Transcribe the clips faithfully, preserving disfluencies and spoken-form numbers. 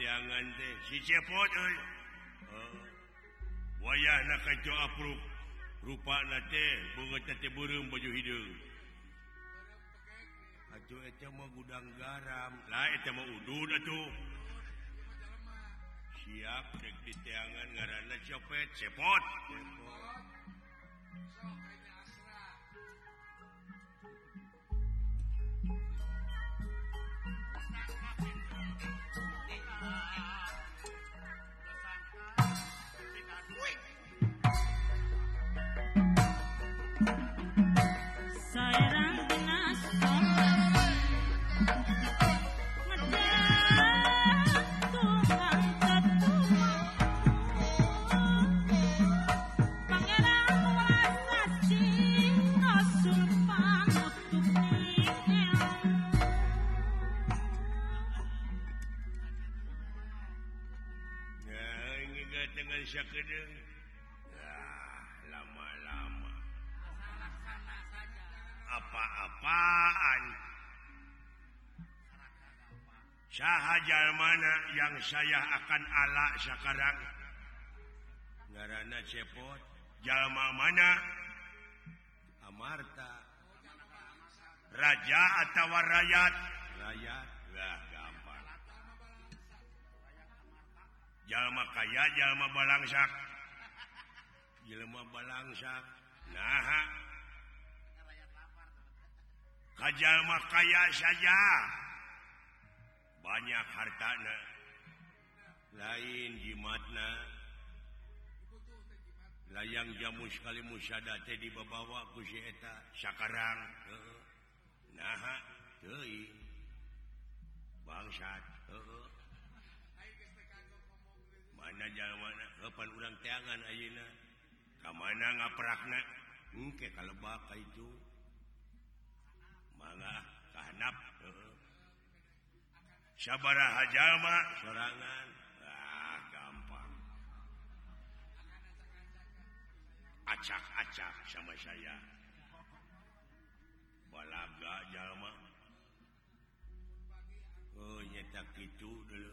teangan teh si cepot euy. Heeh. Wayahna kaco apruk. Rupana teh beungeut teh beureum baju hideung. Atuh eta mah gudang garam. Lah eta mah udud atuh. Siap dek di teangan ngaranna copet cepot. Cepot. Sakedeung. Nah, lama-lama. Apa-apaan? Saha jalmana yang saya akan ala sakarang? Ngaranna cepot. Jalma mana? Amarta. Raja atau rakyat? Rakyat. Lah gampang. Jalma kaya, jalma balangsak. Jalma balangsak. Nah. Kajalma kaya saja. Banyak hartana. Lain jimatna. Layang jamu sekali musyada teh dibawa ku si eta sakarang. Nah, teuing. Bangsat. Heeh. Mana jalmana kapan urang teangan ayeuna ka mana ngaprakna engke kalebak ka itu mangga kahandap heeh sabaraha jalma sorangan ah gampang acak-acak sama saya balaga jalma oh nyata kitu dulu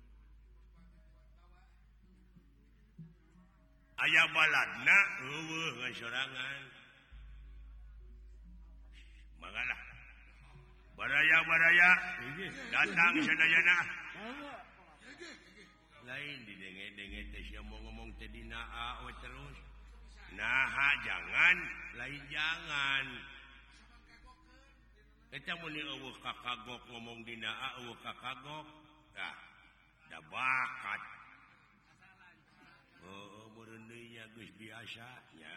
aya baladna eueuh ngasorangan mangalah baraya-baraya datang sadayana lain didenge-denge teh sia mau ngomong teh dina A we terus naha jangan lain jangan eta mun eueuh kakagok ngomong dina A eueuh kakagok tah da bakat oh merendinya geus biasanya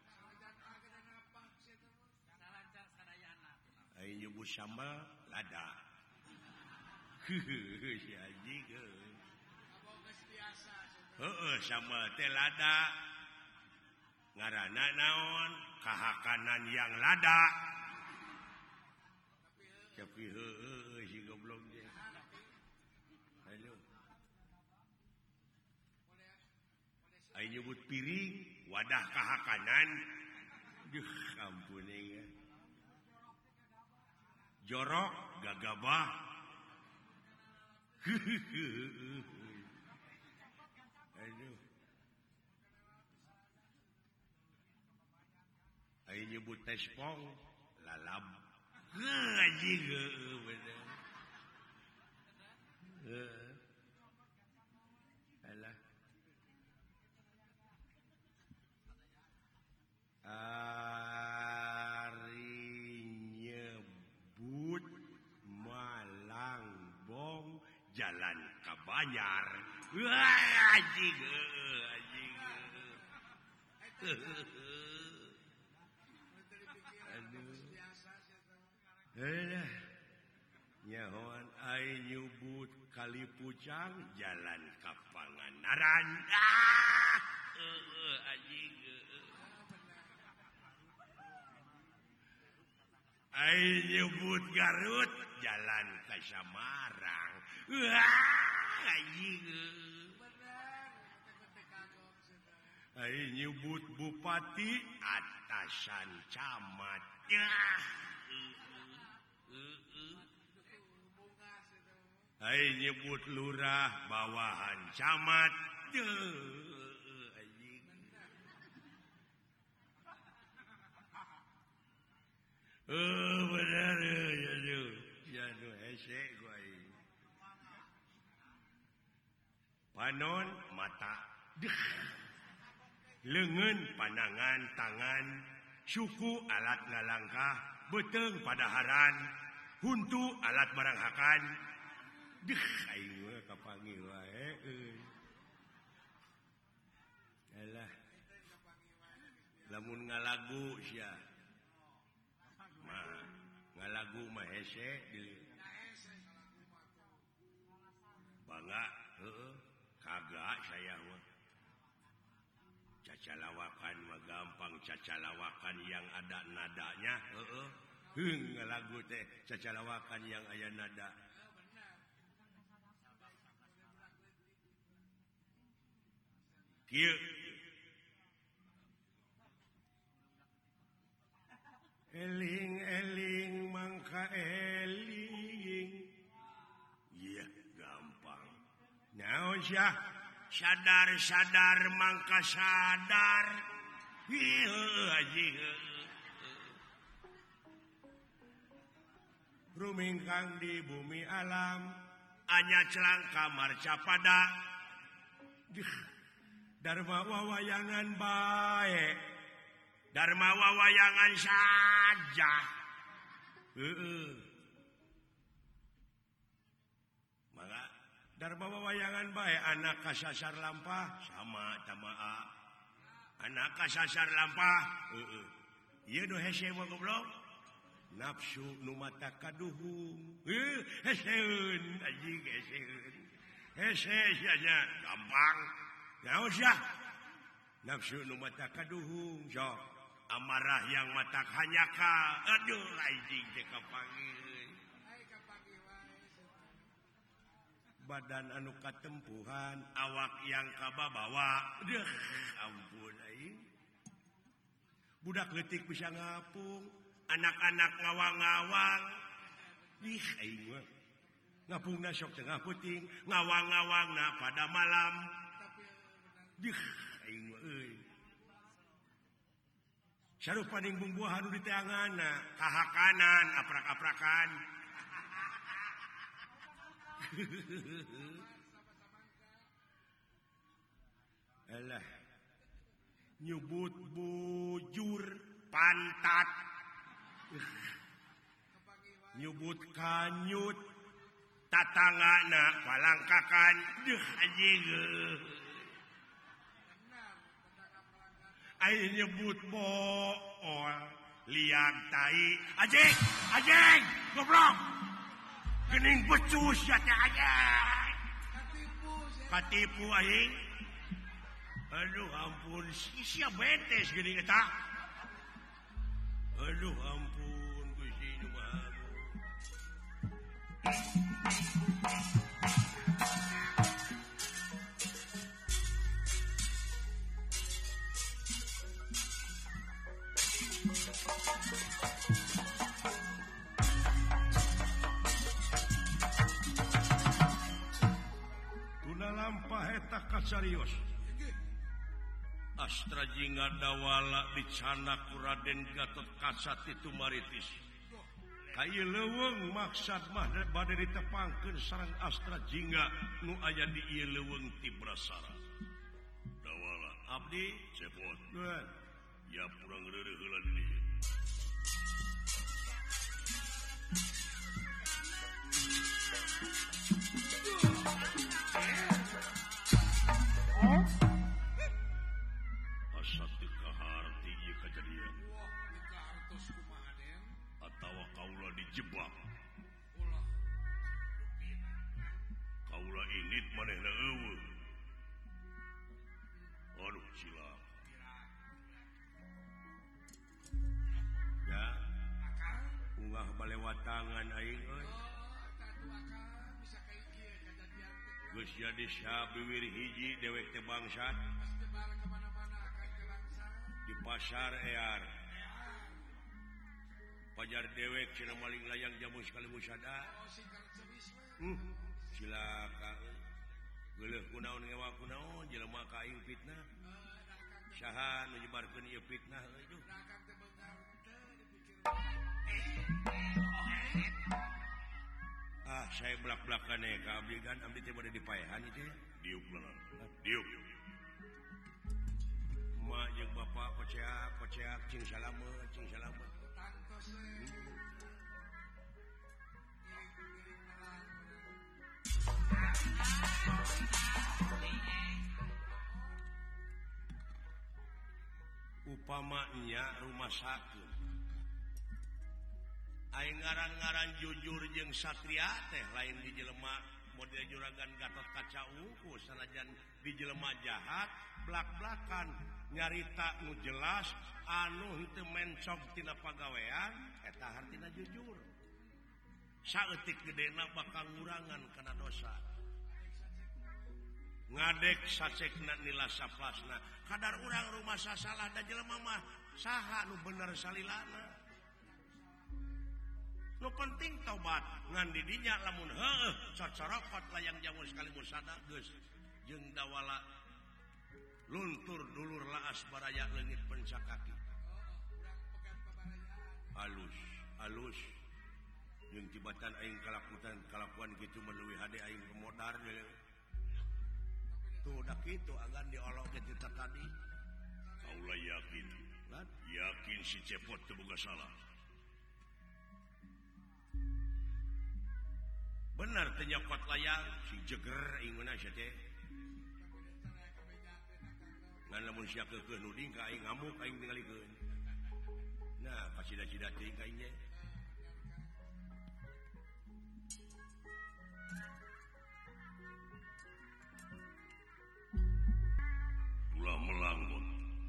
ai nyebut sambal lada si anjing heeh sambal teh lada ngaranna naon kahakanan yang lada tapi heueuh si goblok dia halo ai nyebut piring wadah kahakanan duh ampun ya jorok gagabah aduh ai nyebut tespong lalab anjing heueuh bener heeh alah ari nyebut Malangbong jalan ka Banyar. Wah anjing anjing. Aduh. Alah. Nyahoan ai nyebut Kalipucang jalan ka Pangandaran. Ah! Heeh anjing. Ai nyebut Garut jalan ke Samarang. Wah, anjing. Ai nyebut Bupati atasan camat. Ya. hai nyebut lurah bawahan camat oh benar ya ya ya nu hese gua panon mata deh leungeun pandangan tangan suku alat ngalangkah beteng padaharan huntu alat baranghakan deh aing mah kapanggih wae euy alah lamun ngalagu sia mah ngalagu mah hese bangga heueuh kagak saya mah cacalawakan mah gampang cacalawakan yang ada nadanya heeh heung ngalagu teh cacalawakan yang aya nada kieu eling-eling mangka eling iya gampang naon sia sadar-sadar mangka sadar heuh haji rumingkang di bumi alam anya celangka marca pada dharma wawayangan bae dharma wawayangan saja heeh mangga dharma wawayangan bae anak kasasar lampah sama tamaa anak kasasar lampah heeh ieu nu hese mah goblok nafsu nu mata kaduhung heuh heseun anjing heseun hese saja gampang naon sia nafsu nu mata kaduhung sok amarah yang mata hanyaka aduh anjing teh kapanggih badan anu katempuhan awak yang kababawa deuh ampun aing budak leutik bisa ngapung anak-anak ngawang-ngawang ih aing mah ngapungna sok tengah puting ngawang-ngawangna pada malam dih aing mah euy sarupaning bumbuhan nu di teanganna kahakanan aprak-aprakan alah nyebut bujur pantat nyebut kanyut tatangana palangkakan deuh anjing aing nyebut bool liang tai anjing anjing goblok geuning becus ya teh anjing katipu aing aduh ampun sia betes geuning eta aduh ampun Gusti Nu Maha tuna lampah eta kasarios Astra jingga dawala dicana ku Raden Gatot Kaca itu maritis kaya leuweung maksad mah bade ditepangkeun sareng Astra jingga nu aya di ieu leuweung ti Brasara dawala abdi cepot ya purang reureuh heula di dieu jebak kaula init manehna eueuh aduh cilaka ya ungah balewatangan aing euy geus jadi sabiwir hiji dewek teh bangsat di pasar ear pajar dewek cina maling layang jamu sekali musada hmm. cilaka geuleuh kunaon ngewa kunaon jelema ka aing fitnah saha nu nyebarkeun ieu fitnah euy duh ah saya belak-belakan ya ka abdi kan abdi teh bade dipaehan itu ya diuk leungeun diuk mak jeung bapak koceak koceak cing salamet cing salamet upamanya rumah sakit aing ngaran-ngaran jujur jeung satria teh lain di jelema model juragan Gatot Kaca Ungu sanajan di jelema jahat blak-blakan nyarita nu jelas anu henteu mencog tina pagawean eta hartina jujur saeutik gedena bakal ngurangan kana dosa ngadek sacekna nila saplasna kadar urang rumah sasalah da jelema mah saha nu bener salilana nu penting tobat ngan di dinya lamun heueuh cocorokot layang jamu sekali musada geus jeung dawala luntur dulur laas baraya leungit pencakaki halus halus jeung tibatan aing kalakutan kalakuan kitu menuwi hade aing modar tuh dah kitu agan diolok ke kita tadi kaula yakin lan yakin si cepot teu boga salah bener teh nyokot layang si jeger inguna sia teh ngan lamun sia keukeuh nu ding ka aing ngamuk aing ningalikeun nah pasida-sida teuing ka aing ge ulah melanggut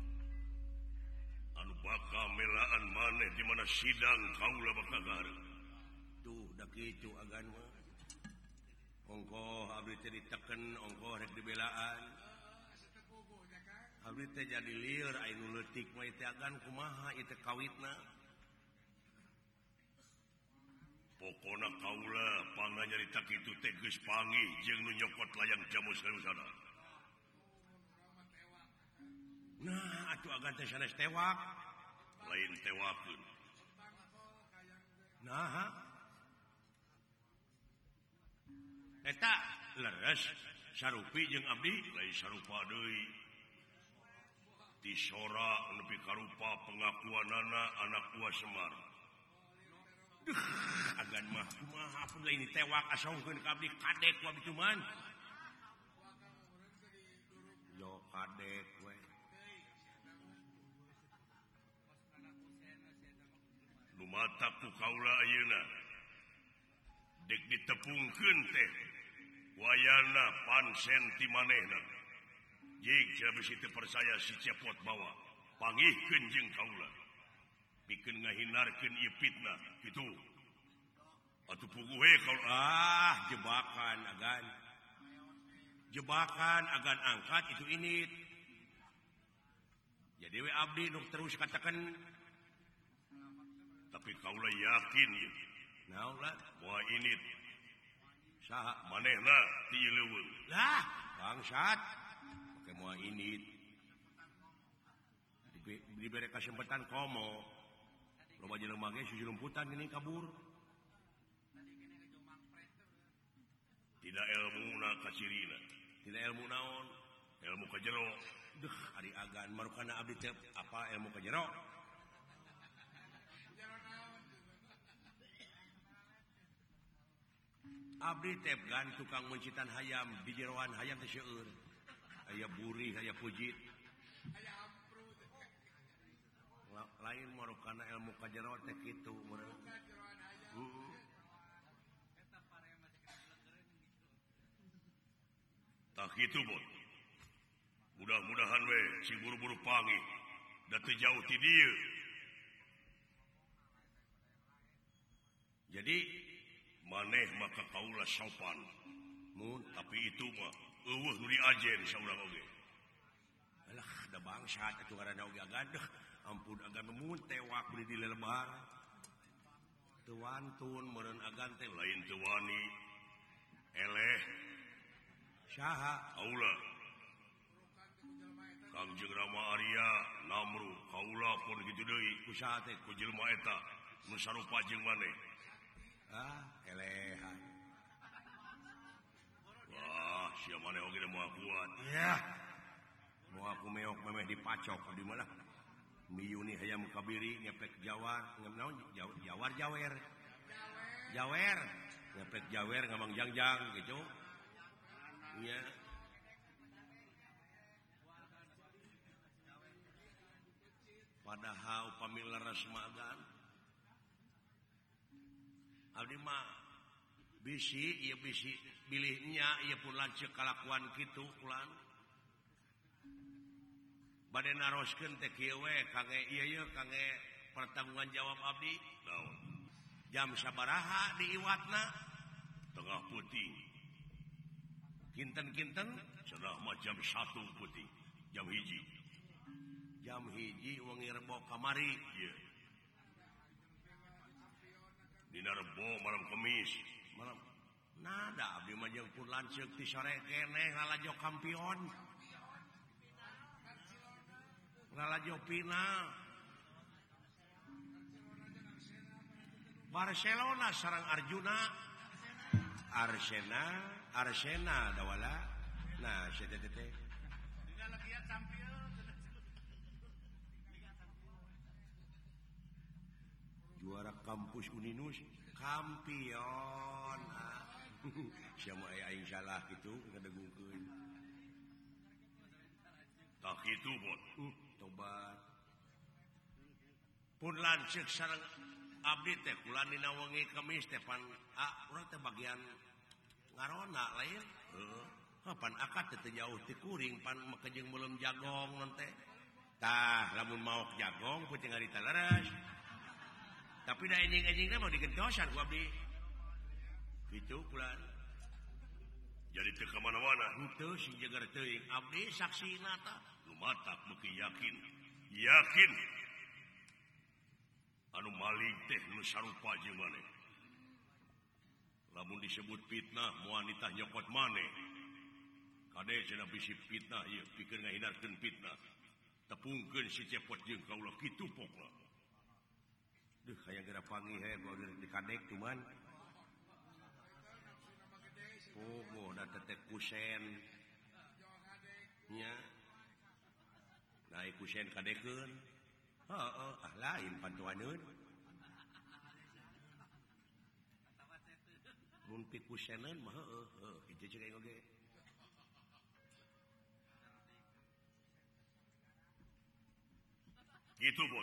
anu bakal melaan maneh di mana sidang kaula bakal gareng tuh da kitu agan mah ongkoh abdi teh diteken ongkoh rek dibelaan abdi teh jadi lieur aya nu leutik mah teh agan kumaha ieu teh kawitna pokona kaula panganyarita kitu teh geus panggih jeung nu nyokot layang jamu sarusana nah atuh agan teh sanes tewak lain tewakeun nah eta leres sarupi jeung abdi lain sarupa deui tisora nepi karupa pengakuanana anak buah Semar duh agan mah kumaha pun lain tewak asongkeun ka abdi kadek wa bituman yo kadek we lumata ku kaula ayeuna dek ditepungkeun teh wayana pansen ti manehna jig sabisi teu percaya si cepot bawa pangihkeun jeung kaula pikeun ngahinarkeun ieu fitnah kitu atuh puguh we kaula ah jebakan agan jebakan agan angkat itu init jadi we abdi nu terus katakan tapi kaula yakin ieu naon lah moal init saha manehna ti ieu leuweung lah bangsat pake moal init dibere kesempatan komo loba jelema ge susulumputan gini kabur tidak ilmuna kasirina tidak ilmu naon ilmu ka jero deuh ari agan marukana abdi teh apa ilmu ka jero abdi teh gan tukang mencitan hayam di jeroan hayam teh seueur aya buri aya pujit aya ampru lain marukana ilmu ka jero teh kitu meureun heeh tak kitu bot mudah-mudahan we si buru-buru panggih da teu jauh ti dieu jadi maneh maka kaula sopan mun tapi itu mah eueuh nu diajen saurang oge alah da bangsat atuh ngaranna oge agadeuh ampun agan mun tewak beli di lelebar teu wantun meureun agan teh lain teu wani eleh saha kaula Kangjeng Rama Arya Namru kaula pun kitu deui ku saha teh ku jelema eta nu sarupa jeung maneh ah elehan wah sia maneh oge moal kuat ya moal aku meok memeh dipacok di mana miyuni hayam kabiri ngepek jawar naon jawar jawer jawer ngepek jawer ngamang jangjang gitu nya padahal upami leres magan abdi mah bisi ieu bisi bilihnya ieu pun lanceuk kalakuan kitu ulang bade naroskeun teh kieu we kangge ieu ieu kangge pertanggungan jawab abdi naon jam sabaraha di iwatna tengah putih kinten-kinten cenah mah jam satu putih jam hiji jam hiji wengi rebo kamari ieu dina rebo malam kemis malam nada abdi mah jeung pun lanceuk ti sore keneh ngalajo kampion ngalajo final Barcelona sareng Arjuna Arsena Arsena dawala nah sia teh teh juara kampus Uninus kampion ah. Sia mah aya aing salah kitu ngadegungkeun tak kitu bot uh, tobat pun lanceuk sareng abdi teh kula dina wengi Kemis teh pan ah urang teh bagian ngarona lain heeh uh, pan akad teh jauh ti kuring pan makejeng meulem jagong non teh tah lamun maok jagong peuting ari leres tapi da enjing-enjingna mah digentosan ku abdi kitu kula jadi teu ka mana-mana henteu si jeger teuing abdi saksina tah lumatak beuki yakin yakin anu maling teh nu sarupa jeung maneh lamun disebut fitnah moal nitah nyokot maneh kade cenah bisi fitnah ieu pikeun ngahindarkeun fitnah tepungkeun si cepot jeung kaula kitu pokna duh hayang geura panggih he bae di kadek cuman pogo da teteh kusen nya naik kusen kadekeun heeh ah lain pantuaneun mun pi kuseneun mah heueuh heuh kitu ceuk aing oge gitu bot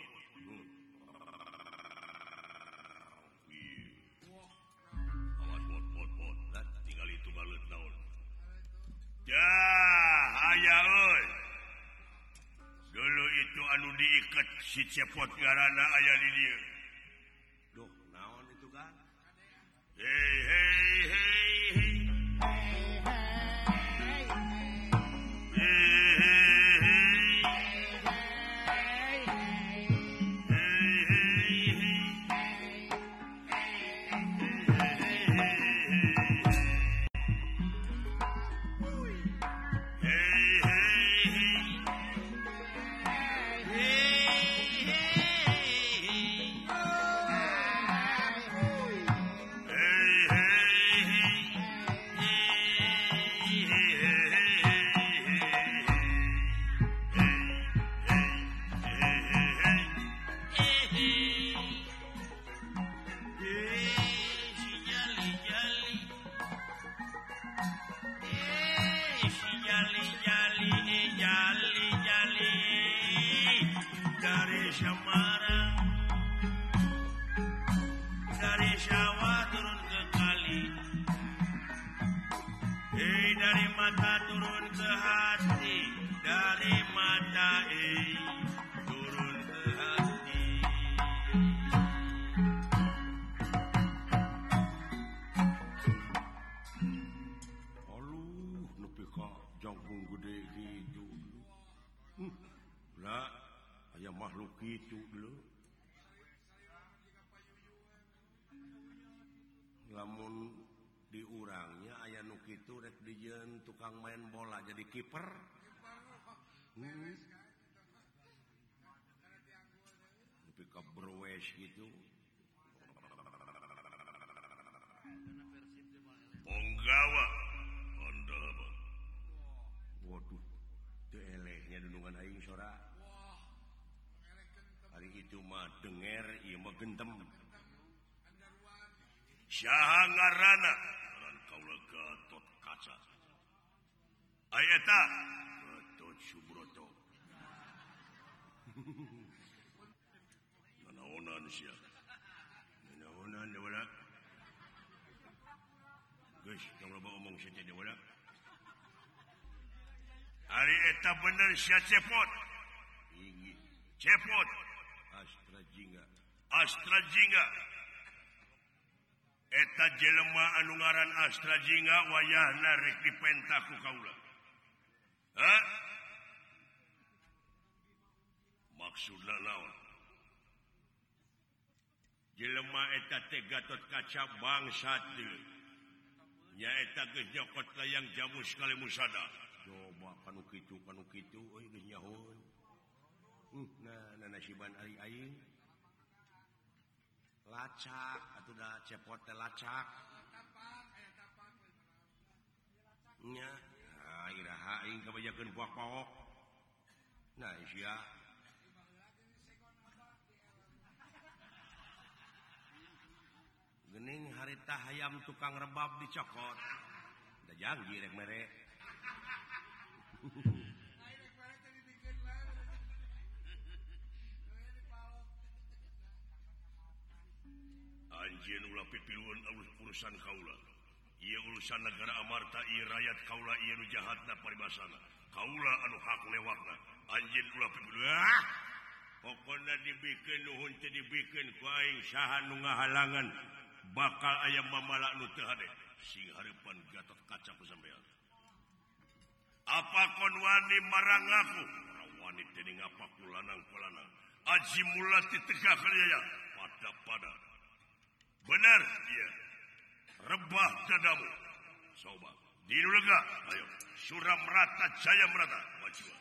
awas bot bot bot dan tinggal itu balut naon ya aya euy dulu itu anu diikat si cepot garana aya di dieu duh naon itu kan hei hei hei hei Gitu dulu lamun diurangnya aya gitu rek dijeun tukang main bola jadi kiper. Hmm. Tapi ka browes gitu. Ponggawa Honda. Waduh, teu elehnya dudungan aing sora. Hari itu mah denger ieu mah gentem. Saha ngaranna? Ngaran kaula Gatot Kaca. Aya eta Gatot Subroto. Nanaonan sia. Nanaonan da wala. Geus, kamu loba omong sia teh wala. Ari eta bener sia cepot. Ingi. Cepot. Astra Jingga. Astra Jingga. Eta jelema anu ngaran Astra Jingga wayahna rek dipenta ku kaula. Hah? Maksudna naon? Jelema eta teh Gatot Kaca bangsat deui. Nya eta geus nyokot layang jamu sekali musada. Coba kanu kitu kanu kitu euy geus nyahoan. Uh, nah nasiban ari aing. Lacak atuh da cepot teh lacak. Nya, nah iraha aing kabajakeun puak paok. Nah sia. Geuning harita hayam tukang rebab dicokot. Da janji rek mere. Anjeun ulah pipiluan urusan kaula. Ieu urusan negara amarta ieu rakyat kaula ieu nu jahatna paribasana. Kaula anu hak lewatna. Anjeun ulah pipiluan. Pokona dibikeun nuhun teh dibikeun ku aing saha nu ngahalangan bakal aya mamala nu teu hade. Sing hareupan Gatot Kaca sampean. Apa kon wani marang aku? Ora wani teh ngapaku lanang-lanang. Aji mulati tegah kaliya pada-pada. Benar, iya. Rebah dadamu. Soba. Dinu lega. Ayo. Suram rata, jaya merata. Majuan.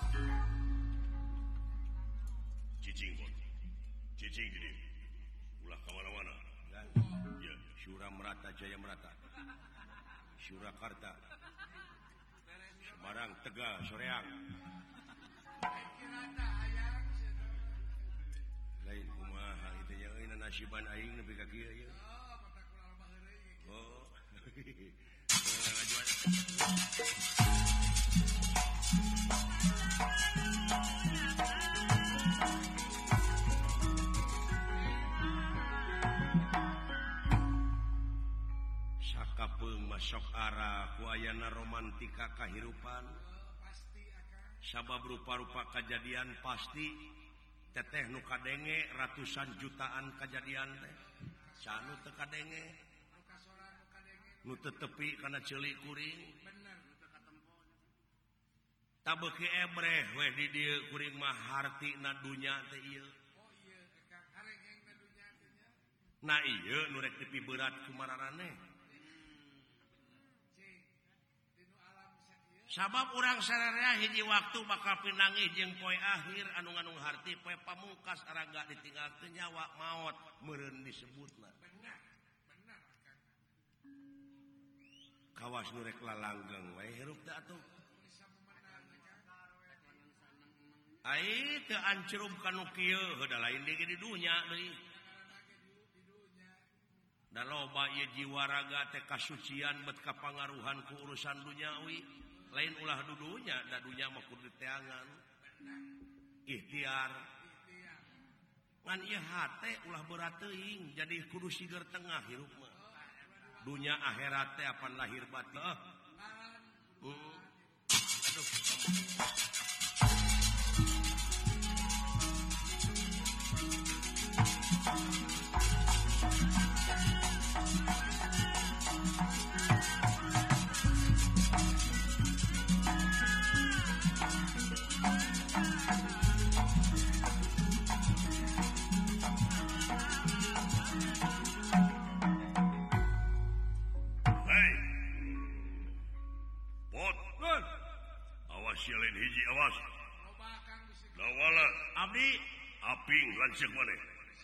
Cicing, bon. Cicing gini. Ulah kemana-mana. Ya. Suram merata, jaya merata. Surakarta. Semarang, Tegal, Soreang. Lain kumaha itu ya euy nasiban aing nepi ka kieu ye. Oh. Sakapeung masok ara ku ayana romantika kahirupan. Sabab rupa-rupa kejadian pasti teteh nu kadenge ratusan jutaan kejadian teh. Sanu teu kadenge. Nu teu tepi kana ceulik kuring. Bener nu teu katempo. Tabeuki ebreh weh di dieu kuring mah hartina dunya teh ieu. Oh ieu Kang hareng-heng na dunya teh nya. Nah ieu nu rek tepi berat kumararane. Sabab urang sararea hiji waktu bakal pinangih jeung poe akhir anu ngandung harti poe pamungkas araga ditinggalkeun nyawa maot meureun disebutna. Benar, benar Kang. Kawas nu rek lalanggeng wae hirup teh atuh. Ai teu ancrum kanu kieu heuda lain di dunya deui. Da loba ieu jiwa raga teh kasucian bet kapangaruhan ku urusan duniawi. Lain ulah dudunya, da dunya mah kudu teangan. Ikhtiar. Ngan ieu hate ulah berat teuing, jadi kudu sigar tengah hirup mah. Dunya akhirat teh apan lahir batin. Hmm. Aduh. sialin hiji awas. Lawala abdi aping lanceuk maneh.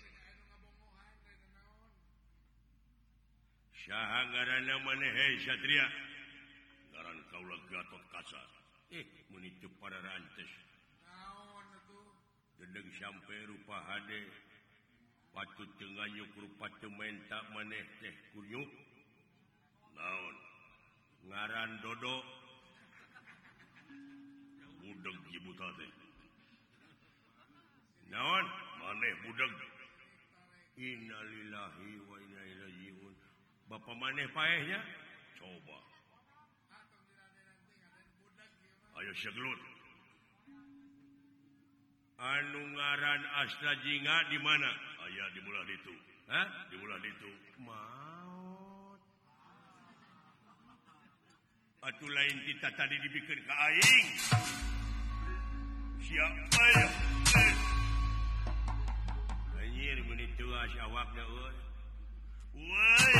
Saha ngaranna maneh hei satria? Ngaran kaula Gatot Kaca. Eh, mun itu para rantes. Naon atuh? Dedeg sampe rupa hade. Patut teu nganyuk rupa teu menta maneh teh kunyuk. Naon? Ngaran Dodo. Budeg ibu teh. Naon? Maneh budeg. Innalillahi wa inna ilaihi rajiun. Bapak maneh paehnya? Coba. Ayo seglut. Anu ngaran Astra Jingga di mana? Aya di mulah ditu. Hah? Di mulah ditu. Maot. Atuh lain kita tadi dibikeun ka aing. Siapa ya? Anjir mun itu awakna euy. Woi.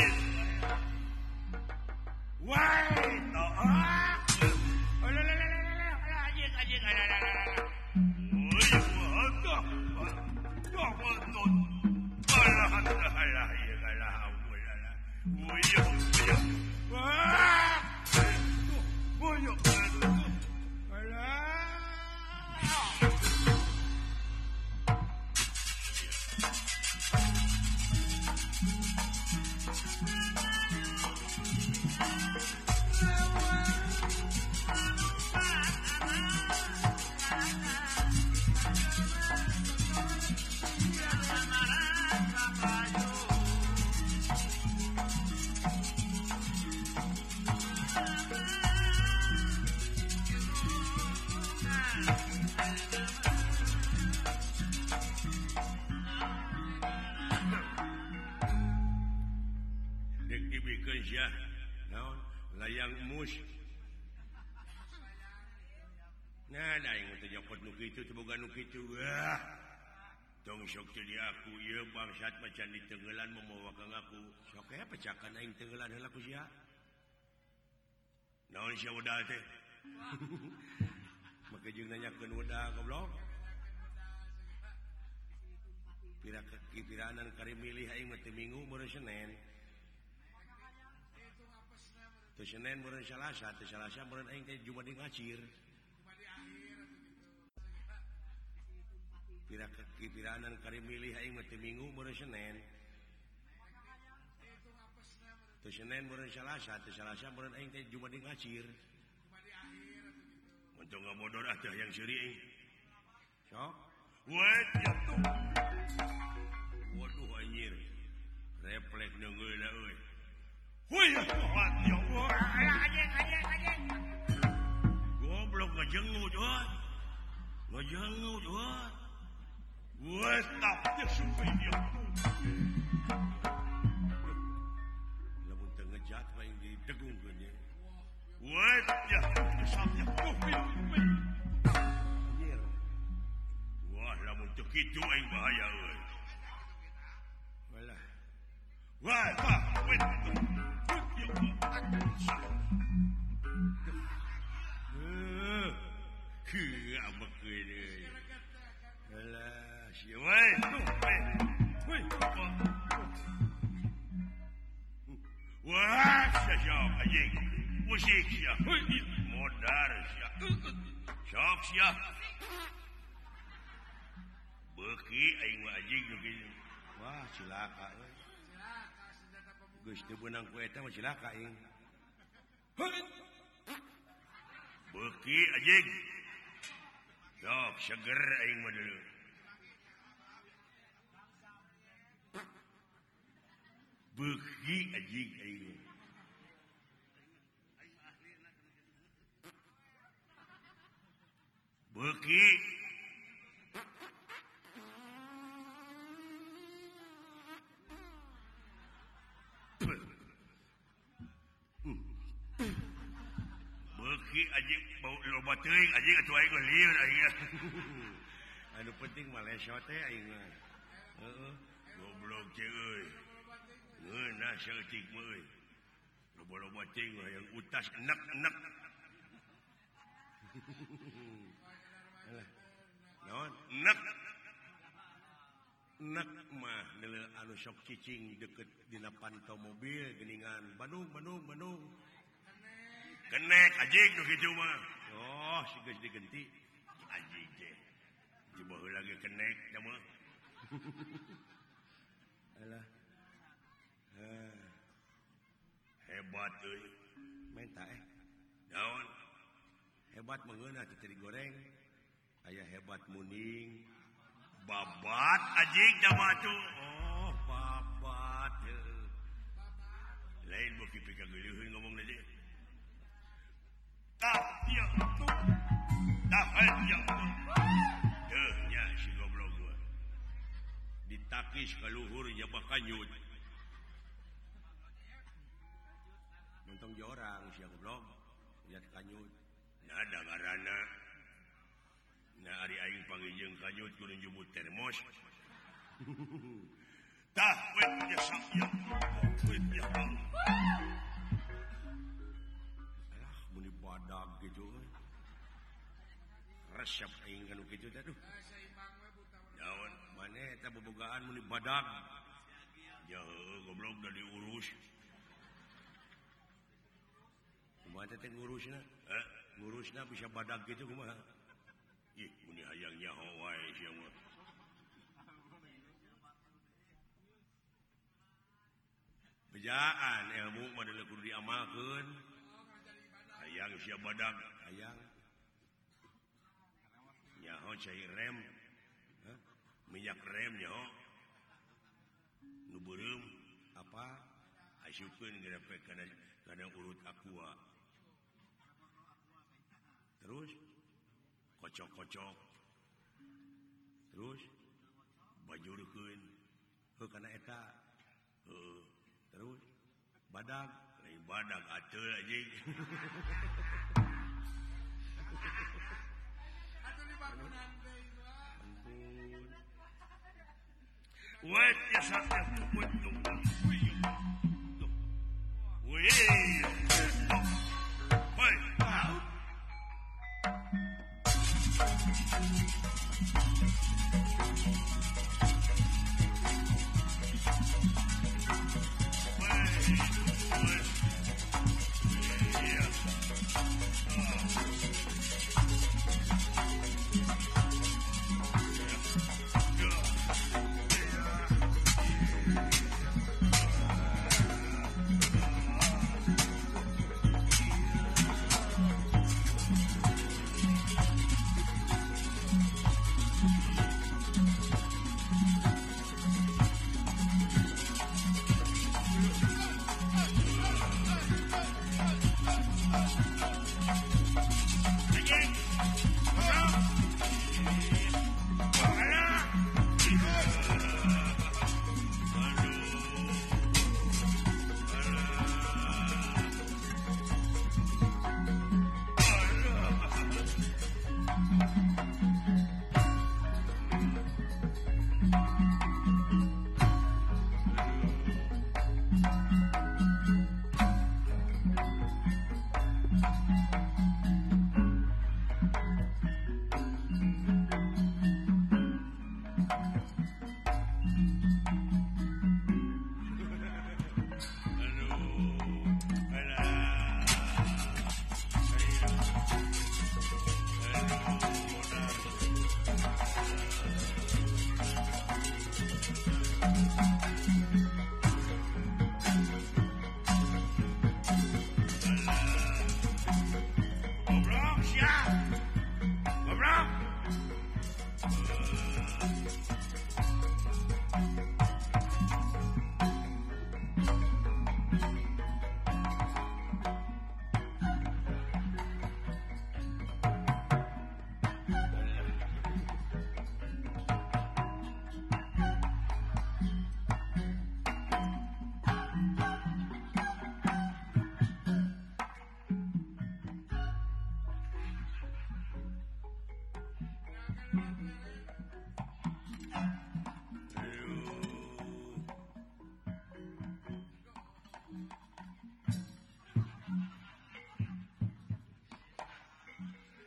Woi, toak. Alalalalalala, anjing anjing alalala. Woi, wadah. Dah wadah. Alah alah alah alah alah. Woi, woi. Wah. Woi. Alah. Ya, naon layang mus. Nah, da yang teh nyokot nu kitu teh boga nu kitu. Wah. Tong sok teh di aku ieu bangsat macan di tenggelan membawa ka ngaku. Sok aya pecakan aing tenggelan heula ku sia. Naon sia udal teh? Make jeung nanyakeun udal goblok. Pira kipiranan kari milih aing mah teh Minggu meureun Senin. Teu Senin meureun Salasa, teu Salasa meureun aing teh Jumat di ngacir. Pira kipiranan kari milih aing mah teh Minggu meureun Senin. Teu Senin meureun Salasa, teu Salasa meureun aing teh Jumat di ngacir. Untuk ngabodor atuh yang seuri aing. Sok. Wet jatuh. Waduh anjir. Refleks neungeula euy. Woi, ya Allah, anjing, anjing, anjing. Goblok ngajengut, woi. Ngajengut, woi. Woi, tapnya sumpah dia. Lamun teu ngejat mah yang didegungkeun ye. Woi, ya, sapnya kupi. Anjir. Wah, lamun teu kitu aing bahaya euy. Walah. Wah, pak, wait. Heh, abak ini. Alah, siapa? Woi, woi, wah, siapa? Anjing, musik siapa? Modar siapa? Sok siapa? Beki, aing mah anjing begini. Wah, cilaka. Geus teu beunang ku eta mah cilaka aing. Beuki anjing. Sok seger aing mah deuleu. Beuki anjing aing. Beuki. Anjing bau loba teuing anjing atuh aing lieur aing. Anu penting mah leso teh aing mah. Heeh. Goblok ceu euy. Ngeunah saeutik mah euy. Loba-loba teuing yang utas enek-enek. mah anu sok cicing deket di pantau mobil geningan Bandung Bandung Bandung kenek anjing nu kitu mah oh si geus digenti anjing teh coba lagi kenek dah mah alah ah. Hebat euy menta eh daun hebat mengeuna teh digoreng aya hebat muning babat anjing jama tuh oh babat heuh lain beuki pika geuleuheun ngomong deui tah ieu tuh tah ya heuh nya si goblok gua ditakis ka luhur nya bakanyut mentong jorang si goblok lihat kanyut nah ada ngaranna nah ari aing panggieung kanyut kudu njumut termos tah we ya sakya we ya alah muni badag gitu resep aing kanu kitu teh duh naon maneh eta bobogaan muni badag ya heuh goblok da diurus kumaha teh ngurusna eh ngurusna bisa badag gitu kumaha ih muni hayang nyaho wae sia mah bejaan ilmu mah deuleu kudu diamalkeun hayang sia badag hayang nyaho cai rem hah minyak rem nyaho nu beureum apa asupkeun grepek kana kana urut aqua terus kocok-kocok terus bajurkeun heuh kana eta heuh terus badag lain badag ateul anjing atuh di bangunan deui ampun wet ya satya tuh tuh wih hoi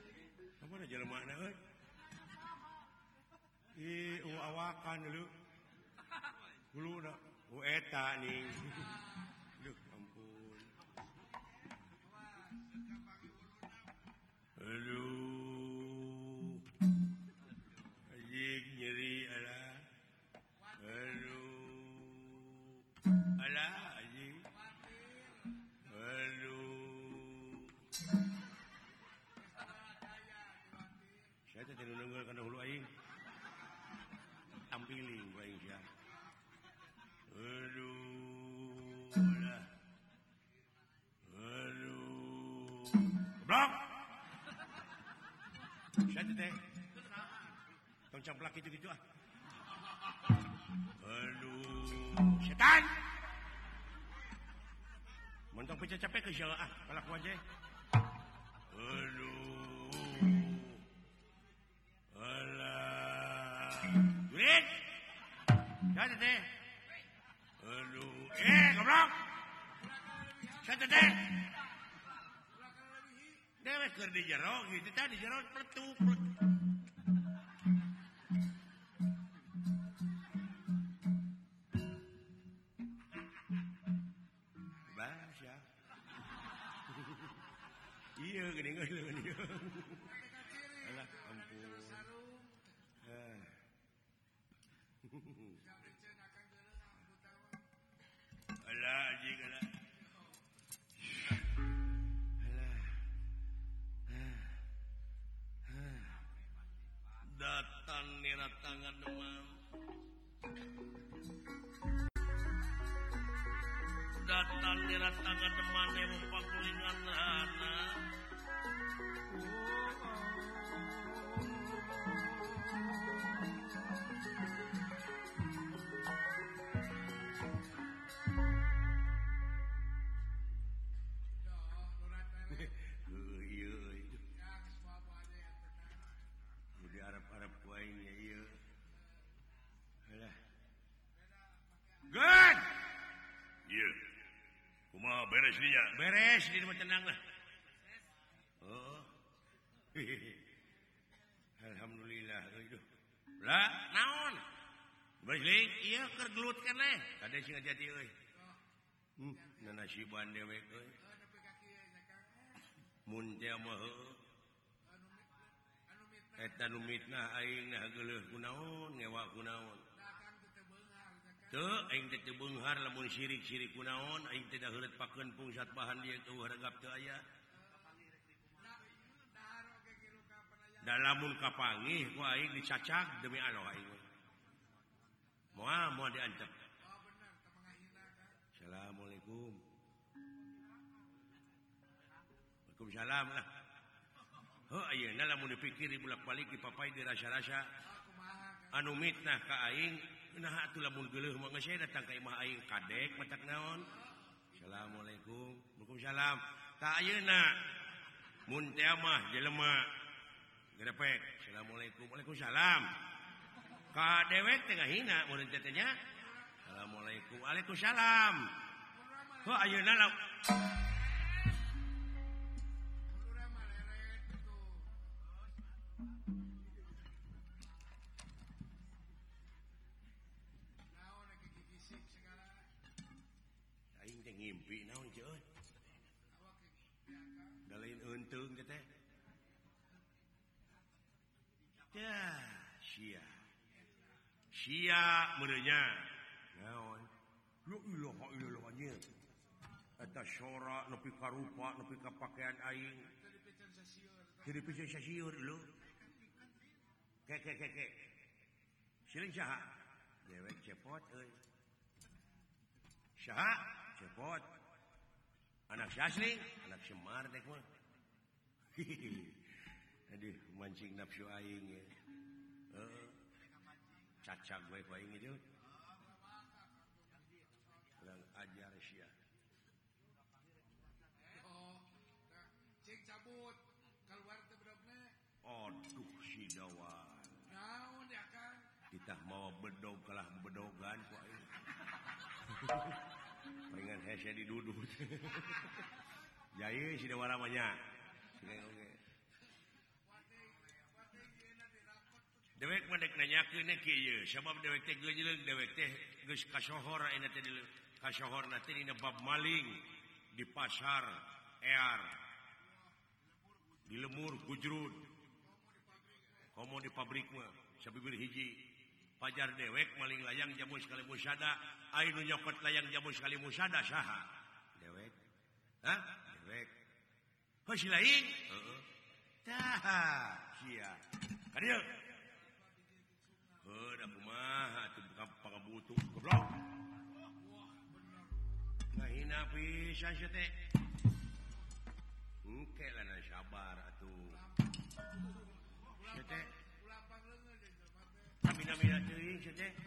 jelema na euy ih awakan dulu Kuluna. Oh eta nih. Duh ampun. Aduh. Anjing nyeri ala. Aduh. Ala anjing. Aduh. Saya teh teu neungeul kana hulu aing. Tampiling ku aing sia. Aduh. Alah. Aduh. Goblok. Saya teh tong camplak gitu-gitu ah. Aduh, setan. Mentong pecah capek ke siapa ah, kalaku aja. Aduh. Alah. Duit. Saya teh. Aduh, eh goblok. Saya teh. Dewe keur di jero gitu tadi di jero pletuk. Bas ya. Iya gini ngeuleuh ieu. Alah ampun. Ah. Alah anjing alah. Datang nirat tangan demam. Datang nirat tangan demam yang pakulingan rana. Good. Iya. Kumaha beres dinya? Beres, di rumah tenang lah. Oh. Alhamdulillah euy. Lah, naon? Bersling, iya keur gelut keneh. Kade sing ngajati euy. Hmm, nasiban dewek euy. Mun teh mah heueuh. Eta nu mitnah aing nah geuleuh kunaon, ngewa kunaon. Tuh, aing teh teu beunghar lamun sirik-sirik kunaon, aing teh da heureut pakeun pungsat bahan dia teu haragap teu aya. Da lamun kapanggih ku aing dicacag demi Allah aing. Moal moal diancam. Assalamualaikum. Waalaikumsalam lah. Heuh ayeuna lamun dipikir bolak-balik dipapai dirasa-rasa anu mitnah ka aing. Nah atuh lamun geuleuh mah geus datang ka imah aing kadek matak naon. Assalamualaikum. Waalaikumsalam. Ta ayeuna mun teh mah jelema grepek. Assalamualaikum. Waalaikumsalam. Ka dewek teh ngahina mun teh nya. Assalamualaikum. Waalaikumsalam. Heuh ayeuna la ngimpi naon ce euy. Da lain eunteung teh. Ya, sia. Sia meureunya. Naon? La ilaha illallah nya. Eta syora nepi ka rupa, nepi ka pakaian aing. Jadi pisan sasieur lho. Kek kek kek kek. Siling saha? Dewek cepot euy. Saha? Cepot. Anak Syasling, anak Semar dek mah. Aduh, mancing nafsu aing ya. Heeh. Cacag we ku aing itu. Kurang ajar sia. Oh, cing cabut keluar teh bedogna. Aduh, si dawan. Naon ya, Kang? Kita mau bedog kalah bedogan ku aing. Pengen hese didudut. Jai si dewa namanya. Dewek dek nanyakeun kieu sabab dewek teh geuleuh dewek teh geus kasohor ayeuna teh kasohor nanti dina bab maling di pasar ear di lemur gujrud komo di pabrik mah sabibir hiji pajar dewek maling layang jamu sekali musada aya nu nyokot layang jamu sekali musada saha dewek hah dewek heuh si lain heeh tah sia kadieu heuh da kumaha atuh buka pangabutuh goblok ngahina pisan sia teh engke lah na sabar atuh sia teh mina-mina teuing sia teh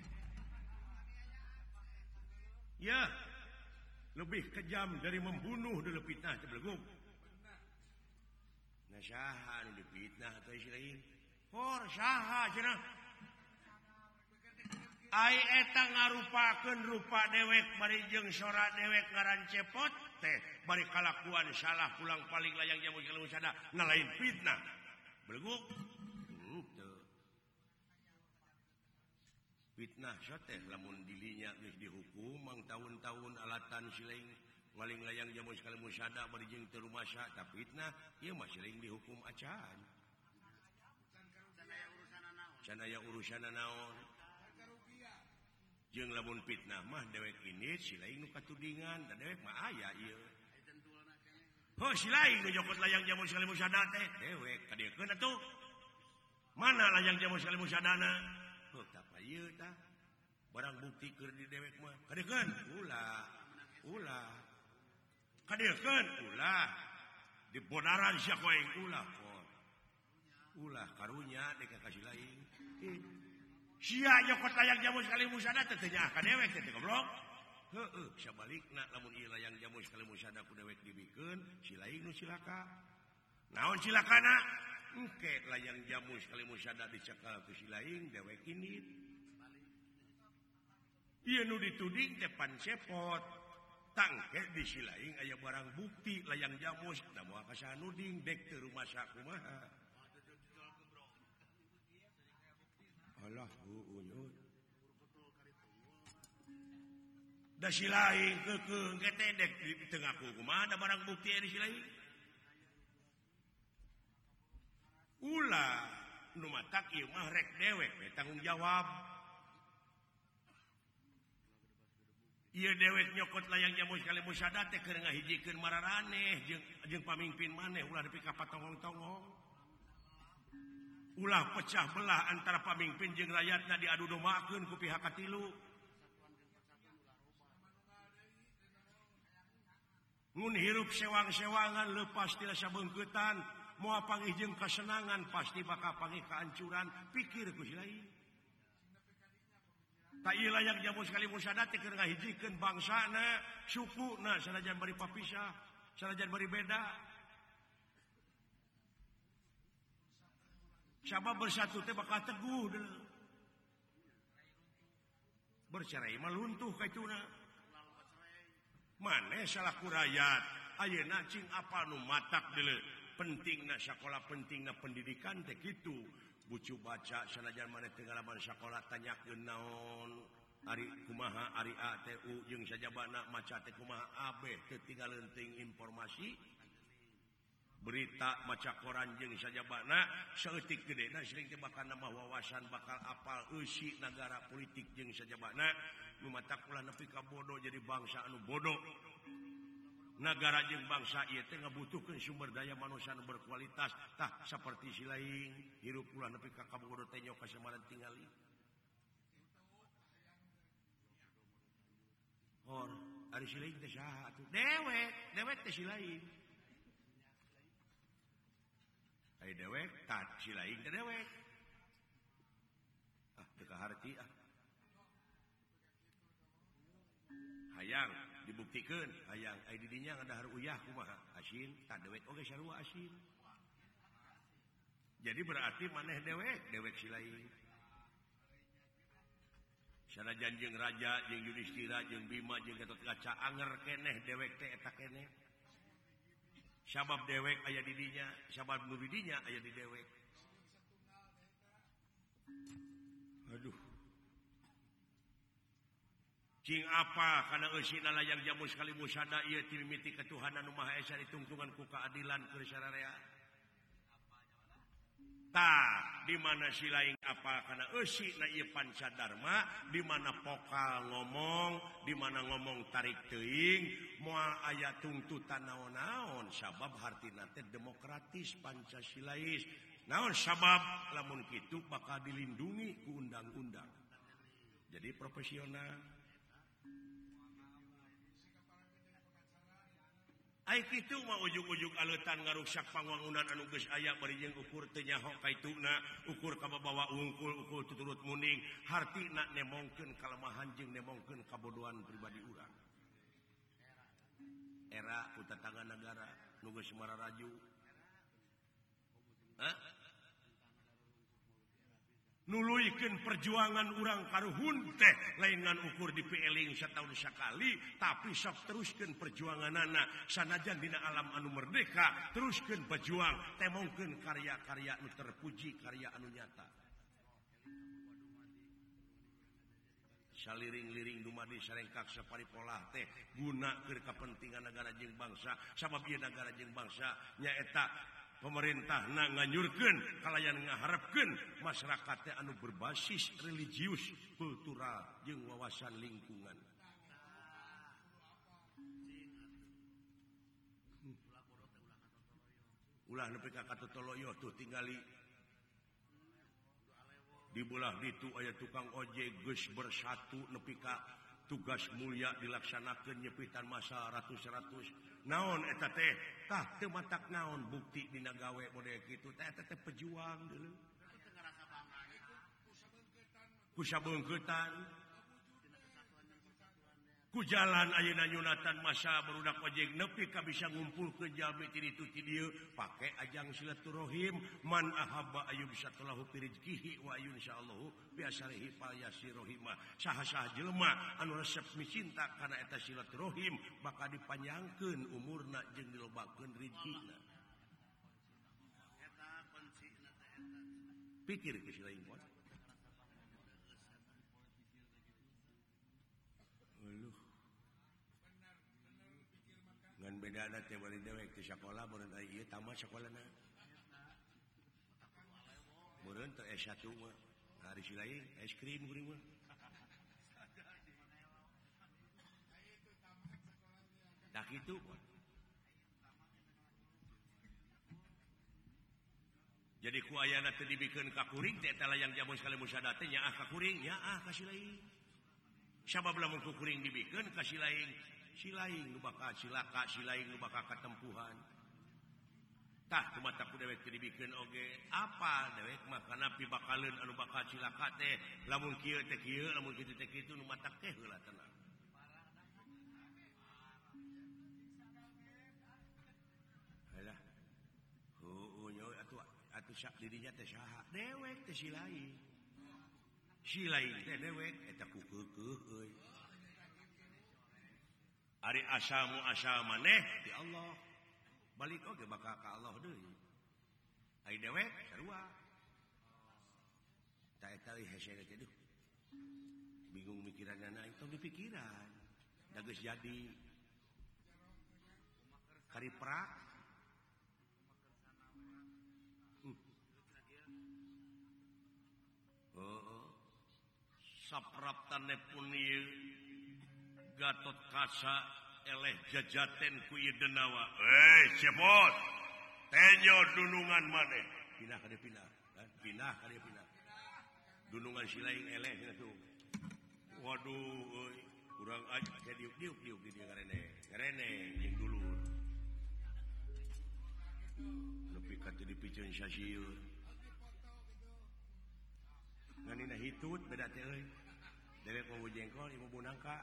ya lebih kejam dari membunuh dulu fitnah teh belegug nah saha nu difitnah atuh si lain hor saha cenah ai eta ngarupakeun rupa dewek bari jeung sora dewek ngaran cepot teh bari kalakuan salah pulang paling layang jamu kalau sada nah lain fitnah belegug henteu fitnah teh lamun dilinya geus dihukum mang tahun-tahun alatan silaing maling layang jamu sekali musada bari jeung teu rumasa tah fitnah ieu mah silaing dihukum acan can aya urusana naon jeung lamun fitnah mah dewek ini silaing nu katudingan da dewek mah aya ieu heuh silaing nu nyokot layang jamu sekali musada teh dewek kadiekeun atuh mana layang jamu sekali musadana heuh tah ieu tah barang bukti keur di dewek mah kadiekeun ulah ulah kadiekeun ulah di bodaran sia koeng ulah pot ulah karunya dek kasih lain sia nyokot layang jamu sekali musada teh teu nyaah ka dewek teh goblok heueuh sabalikna lamun ieu layang jamu sekali musada ku dewek dibikeun si lain nu cilaka naon cilakana engke layang jamu sekali musada dicekal ku si lain dewek ini ieu nu dituding teh pan cepot tangke di si lain aya barang bukti layang jamu da moal ka sanuding dek teu rumasa kumaha alah heueuh da si lain keukeuh engke teh dek teu ngaku kumaha da barang bukti di si lain ulah nu matak ieu mah rek dewek we tanggung jawab ieu dewek nyokot layang jamu sekali musada teh keur ngahijikeun mararaneh jeung jeung pamimpin maneh ulah nepi ka patongong-tongong ulah pecah belah antara pamimpin jeung rakyatna diadu domaakeun ku pihak katilu ngun hirup sewang-sewangan leupas ti rasa beungkeutan moal panggih jeung kasenangan pasti bakal panggih kehancuran pikir ku si lain tak ieu layang jamu sekali musada teh keur ngahijikeun bangsana sukuna sanajan bari papisah sanajan bari beda sabab bersatu teh bakal teguh deuleu bercerai mah luntuh kaituna maneh salaku rakyat ayeuna cing apa nu matak deuleu pentingna sakola pentingna pendidikan teh kitu bucu baca sanajan maneh teu ngalaman sakola tanyakeun naon ari kumaha ari A T U jeung sajabana maca teh kumaha abeh teu tinggal leuting informasi berita maca koran jeung sajabana saeutik gedena sering teh bakal nambah wawasan bakal apal eusi negara politik jeung sajabana nu matak ulah nepi ka bodoh jadi bangsa anu bodoh negara jeung bangsa ieu teh ngabutuhkeun sumber daya manusia anu berkualitas tah saperti si lain hirup ulah nepi ka kabogoh teh nyok kasamaran tingali hor ari si lain teh saha atuh dewek dewek teh si lain ai dewek tat si lain teh dewek ah teu kaharti ah hayang dibuktikan hayang ai di dinya ngadahar uyah kumaha asin tak dewek oge sarua asin jadi berarti maneh dewek dewek si lain sanajan jeung raja jeung Yudhistira jeung Bima jeung Gatotkaca anger keneh dewek teh eta keneh sabab dewek aya di dinya sabab nu di dinya aya di dewek Aduh. Cing apa karena eusina layang jamu sekali musada ieu ti mimiti ketuhanan Nu Maha Esa ditungtungan ku keadilan keur sararea. Tah di mana si laing apa karena eusina ieu pancadarma di mana pokal ngomong di mana ngomong tarik teuing moal aya tuntutan naon-naon sabab hartina teh demokratis Pancasilais. Naon sabab lamun kitu bakal dilindungi ku undang-undang. Jadi profesional. Ai kitu mah ujug-ujug aleutan ngaruksak pangwangunan anu geus aya bari jeung ukur teu nyaho kaituna, ukur kababawa unggul, ukur tuturut muning, hartina nemongkeun kalemahan jeung nemongkeun kabodohan pribadi urang. Era ku tetangga negara nu geus mararaju. Hah? Nuluykeun perjuangan urang karuhun teh laingan ukur di P-eling sataun sakali tapi sok teruskeun perjuanganana sanajan dina alam anu merdeka teruskeun berjuang temongkeun karya-karya anu terpuji karya anu nyata saliring-liring dumadi sarengkak saparipolah teh guna keur kapentingan negara jeung bangsa sabab ieu negara jeung bangsa nyaeta pemerintah na nganyurkeun kalayan ngaharepkeun masyarakat teh anu berbasis religius, kultural jeung wawasan lingkungan. Ulah nepi ka Katotoloyo tuh tingali di belah ditu aya tukang ojek geus bersatu nepi ka tugas mulia dilaksanakeun nyepitan masa ratus-ratus naon eta teh tah teu matak naon bukti dina gawe model kitu teh eta teh pejuang deuleu ku sabeungkeutan ku jalan ayeuna nyunatan masa barudak ojek nepi ka bisa ngumpulkeun jalmi ti ditu ti dieu pake ajang silaturahim man ahabba ayyub satulahu fi rizqihi wa ayyun insyaallah bi asarihi fa yasirahimah saha-saha jelema anu resep micinta kana eta silaturahim bakal dipanjangkeun umurna jeung dilobakeun rezekina eta kuncina teh eta pikir ke si lain poe ngan bedana teh bari dewek ti sakola meureun ari ieu tamat sakolana meureun teh S satu mah hari si lain es krim kuring mah dah kitu jadi ku ayana teh dibikeun ka kuring teh eta layang jamu sekali musada teh nyaah ka kuring nyaah ka si lain sabab lamun ku kuring dibikeun ka si lain silaing nu bakal cilaka silaing nu bakal katempuhan tah kumaha ku dewek teu dibikeun oge apa dewek mah kana pibakaleun anu bakal cilaka teh lamun kieu teh kieu lamun kitu teh kitu nu matak teh heula tenang halah heueuh nyawa atuh atuh sak dirinya teh saha dewek teh silaing silaing teh dewek eta ku keukeuh euy ari asamu asa maneh di Allah balik oge bakal ka Allah deui ai dewek sarua ta eta hese teh duh bingung mikiranna itu dipikiran da geus jadi kariprak heeh sapraptane pun ieu Gatot Kaca eleh jajaten ku ieu denawa. Eh, cepot. Tenyo dunungan maneh. Pindah ka dieu pindah. Pindah ka dieu pindah. Dunungan si lain eleh kitu. Waduh, euy. Urang aja ke diuk-diuk diuk di dieu ngarene. Ngarene jeung dulur. Nepi ka teu dipiceun sasieur. Nganina hitut beda teh euy. Dewek mau jengkol, ieu mau nangka.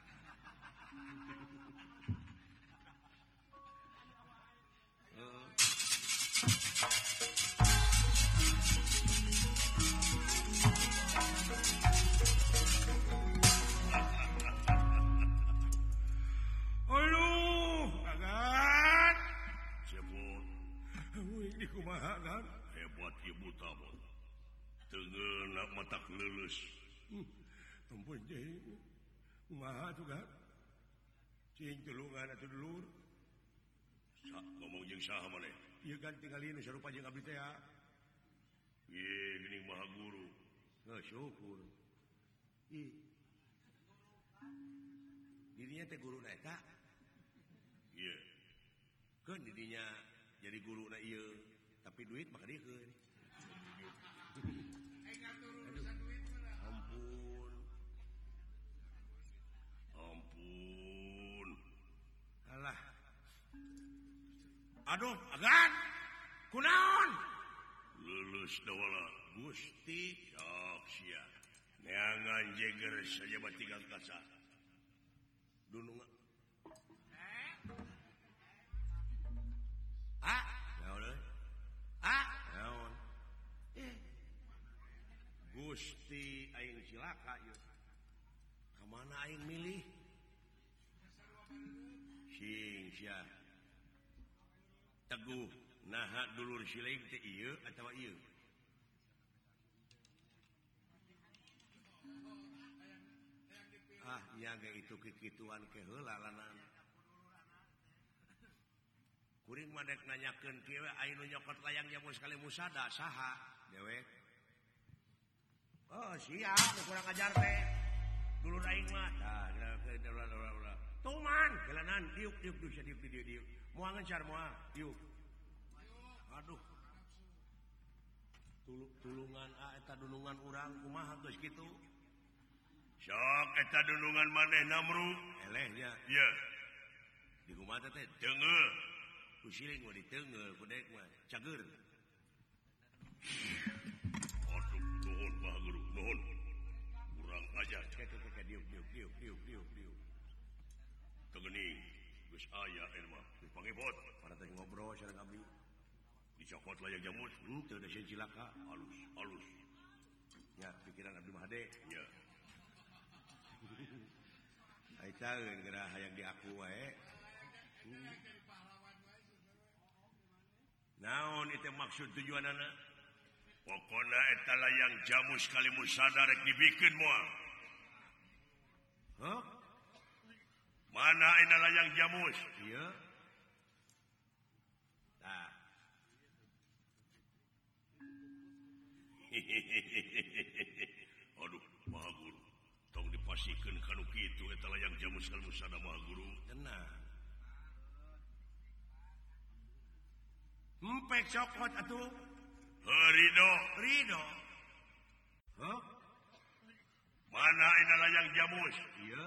Aduh, kagan. Cepot. Wih, di kumaha kan? Hebat ibu tabot. Tengenak mata lulus. Ampun cing. Kumaha tuh kan? Cing tulungan atuh dulur. Sa ngomong jeung saha maneh? Ieu kan tinggal ieu sarupa jeung abdi teh. Ye geuning maha guru. Heuh syukur. Ih. Dirinya teh guruna eta. Ieu. Keun didinya jadi guruna ieu, tapi duit mah kadiekeun. Ampun. Ampun. Alah. Aduh, agan. Kunaon? Lulus dawala Gusti sok sia. Neangan jeger saja batinggal kasa. Dunung. Ah, naon euy? Ah, naon? Eh. Gusti aing cilaka ieu. Ka mana aing milih? Sing sia. Teguh, naha dulur sileung teh ieu atawa ieu? Ah, nyaga itu kikituan ke heula lanana. Kuring mah dek nanyakeun kieu aya nu nyokot layang jamu sekali musada saha dewek? Oh, sia nu kurang ajar teh. Dulur aing mah tah ulah. Tuman, kelanan diuk diuk diuk diuk diuk diuk. Moal ngencar moal, diuk. Aduh. Tulung tulungan ah eta dunungan urang kumaha geus kitu? Sok eta dunungan maneh namru. Elehnya. Ieu. Di kumaha teh? Teungeuh. Ku siling mah diteungeuh ku dek mah cager. Aduh, nuhun Pak Guru, nuhun. Kurang ajar. Kek kek kek diuk diuk diuk diuk diuk diuk. Tegeuning geus aya eta mah. Geus pangipot. Para teh ngobrol sareng abdi. Dicokot layang jamus. Henteu da sieun cilaka. Halus, halus. Ya, pikiran abdi mah hade. Ya. Ai caeun geura hayang diaku wae. Naon itu maksud tujuanana? Pokona eta layang jamu sekali musada rek dibikeun moal. Hah? Mana ina layang jamus? Ieu. Tah. Aduh, Maha Guru. Tong dipasikeun kanu kitu eta layang jamu sekali musada Maha Guru. Tenang. Empek cokot atuh. Ridho. Ridho. Hah? Mana ina layang jamus? Ieu.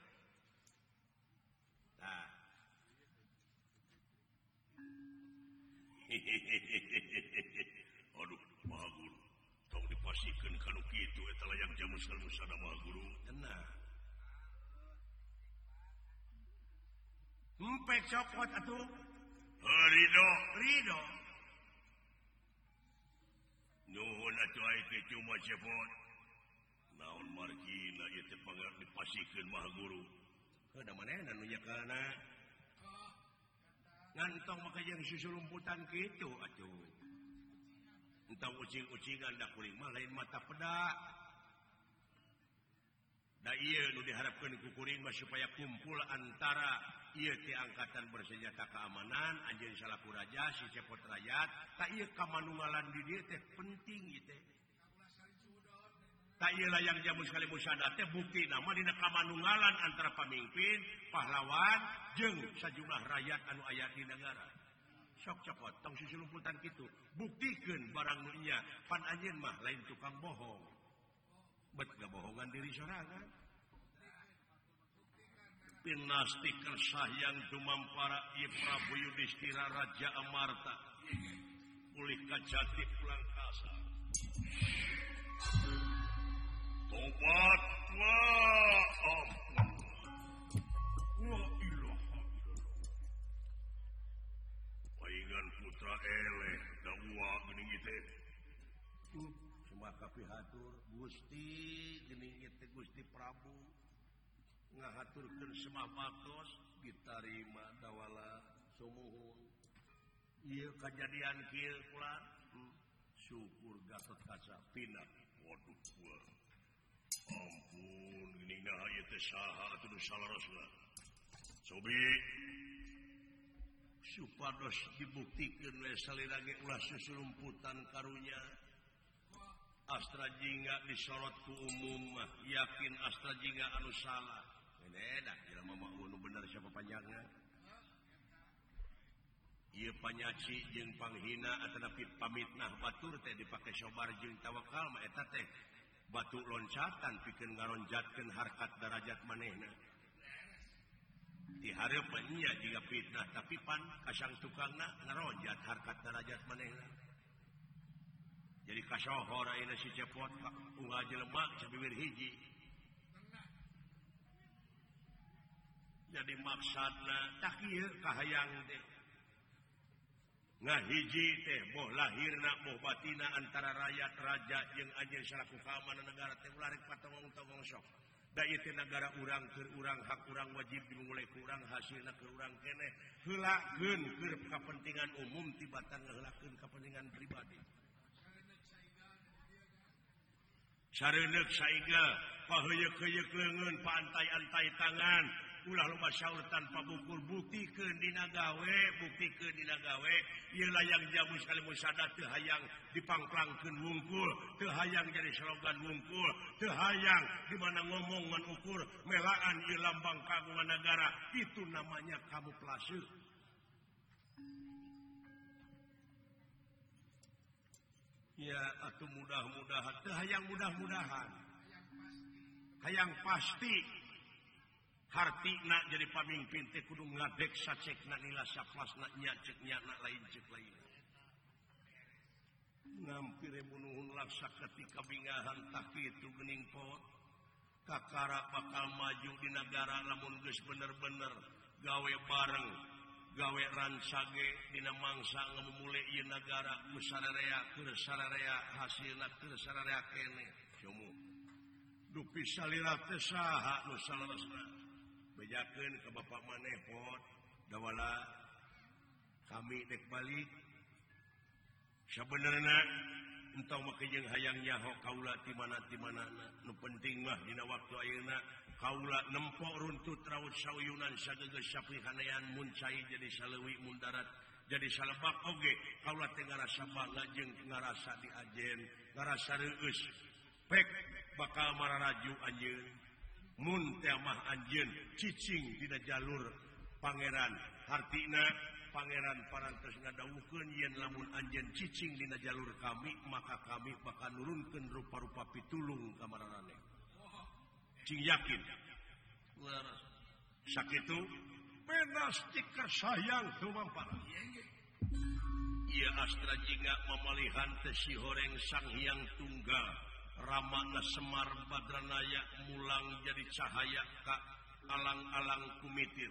Tah. Aduh, Maha Guru. Tong dipasikeun kanu kitu eta layang jamus sekali musada Maha Guru. Tenang. Empek cokot atuh. Ridho. Ridho. Nuhun atuh ai teh cuma cepot. Naon margina ieu teh pangar dipasikeun Maha Guru. Kada manehna nu nyekana. Ngantong maka jeung susulumputan kitu atuh. Entah ucing-ucingan da kuring mah lain mata peda. Da ieu nu diharapkeun ku kuring mah supaya kumpul antara ieu ti angkatan bersenjata keamanan anjeun salaku raja si cepot rakyat ta ieu kamanunggalan di dieu teh penting ieu teh. Ta ieu layang jamu sekali musada teh bukti nama dina kamanunggalan antara pamimpin, pahlawan jeung sajumlah rakyat anu aya di negara. Sok cepot tong susulumputan kitu buktikeun barang nu nya pan anjeun mah lain tukang bohong. Bet gabohongan diri sorangan. Pinasti kersah yang tumampara ieu Prabu Yudhistira Raja Amarta. Pulih kajati pulang kasa. Tobat wa ampun. Wa ilaha. Paingan putra eleh da uwa geuning ieu teh. Cuma kapihatur Gusti geuning ieu teh Gusti Prabu. Ngahaturkeun semah patos ditarima dawala sumuhun. Ieu kajadian kieu kula hmm. Syukur Gatot Kaca pindah. Waduh gua. Ampun, gini nah ieu teh saha atuh nu salarosna. Sobi supados dibuktikan oleh salira ge ulah susulumputan karunya Astra Jingga disorot ku umum mah yakin Astra Jingga anu salah enak jelema mah nu bener siapa panjangna ieu panyaci jeung panghina ataupun pamitnah batur teh dipake sobar jeung tawakal mah eta teh batu loncatan pikeun ngaronjatkeun harkat darajat manehna di hareupeun nya jiga fitnah tapi pan kasang tukangna ngaronjat harkat darajat manehna jadi kasohor ayeuna si cepot unggal jelema sabibir hiji jadi maksudna tak ieu kahayang teh ngahiji teh boh lahirna boh batina antara rakyat raja jeung anjeun salaku keamanan negara teh ulah rek patongong-tongong sok da ieu teh negara urang keur urang hak urang wajib dimulai ku urang hasilna keur urang keneh heulakeun keur kepentingan umum tibatan ngaheulakeun kepentingan pribadi sareuneup saiga paheuyeuh-heuyeuk leungeun paantai-antai tangan ulah loba saur tanpa bukur buktikeun dina gawe buktikeun dina gawe ieu layang jamu sekali musada teu hayang dipangklangkeun wungkul teu hayang jadi slogan wungkul teu hayang di mana ngomong ngan ukur melaan ieu lambang kagungan negara itu namanya kamuflase ya atuh mudah-mudahan teu hayang mudah-mudahan hayang pasti hartina jadi pamimpin teh kudu ngadek sacekna nila saplasna nya cek nyana lain cek lain ngampire bunuhun laksa ketika bingahan tah kitu geuning pot kakara bakal maju di negara lamun geus bener-bener gawe bareng gawe ransage dina mangsa ngamumule ieu negara ku sararea keur sararea hasilna keur sararea keneh somo dupi salira teh saha nu salerosna bejakeun ke bapak maneh pot dawala kami dek balik sabenerna entong make jeung hayang nyaho kaula ti mana ti manana nu penting mah dina waktu ayeuna kaula nempok runtut raut sauyunan sagegeus sapihanean mun cai jadi saleuwi mun darat jadi salebak oge kaula teh ngarasa bangga jeung ngarasa diajen ngarasa reueus pek bakal mararaju anjeun mun teh mah anjeun cicing dina jalur pangeran hartina pangeran parantos ngadawuhkeun yen lamun anjeun cicing dina jalur kami maka kami bakal nurunkeun rupa-rupa pitulung ka mararane cing yakin sakitu penas tikar sayang tumampara ieu Astra Jingga mamalihan teh si horeng Sang Hyang Tunggal Ramana Semar Badranaya mulang jadi cahaya ka alang-alang kumitir.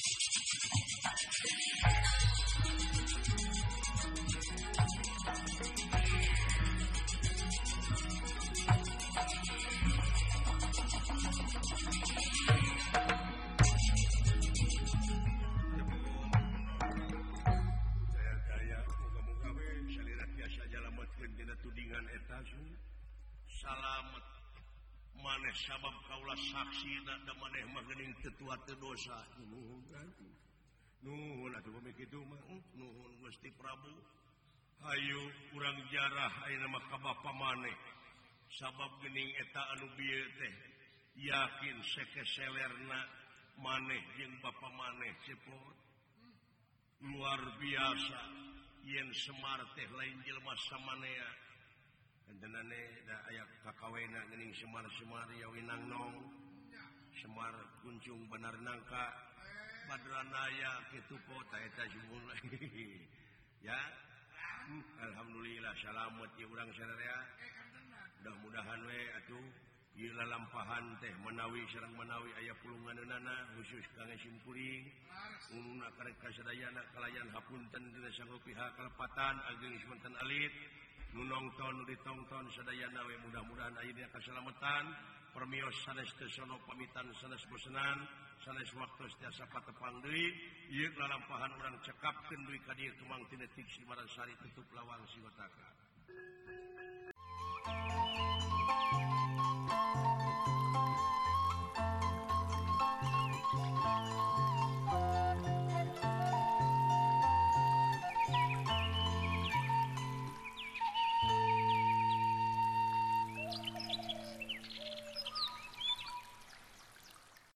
Daya-daya muga-muga we salira tiasa jalametkeun dina tudingan eta salamet maneh sabab kaulah saksi da maneh mah geuning tetua teu dosa nuhun kan nuhun atuh pami kitu mah nuhun Gusti Prabu hayu urang jarah ayeuna mah ka bapa maneh sabab geuning eta anu bieu teh yakin sekeselerna maneh jeung bapa maneh cepot luar biasa yen Semar teh lain jelema samanea entenane da aya kakawena geuning Semar-semar yawinang nong Semar kuncung benar nangka Badranaya kitu po ta eta jumun ya alhamdulillah salamet ieu urang sadaya mudah-mudahan we atuh ieu lalampahan teh menawi sareng menawi aya pulunganeunana khusus kangge simkuring uluna karek kasadayana kalayan hapunten dina sanggup pihak kalepatan ageung semanten alit nu nongton nu ditongton sadayana we mudah-mudahan aya dina kasalamatan permios sanes teu sono pamitan sanes bosenan sanes waktos tiasa patepang deui ieu lalampahan urang cekapkeun deui ka dieu kemang tina tik Simarasari tutup lawang siwataka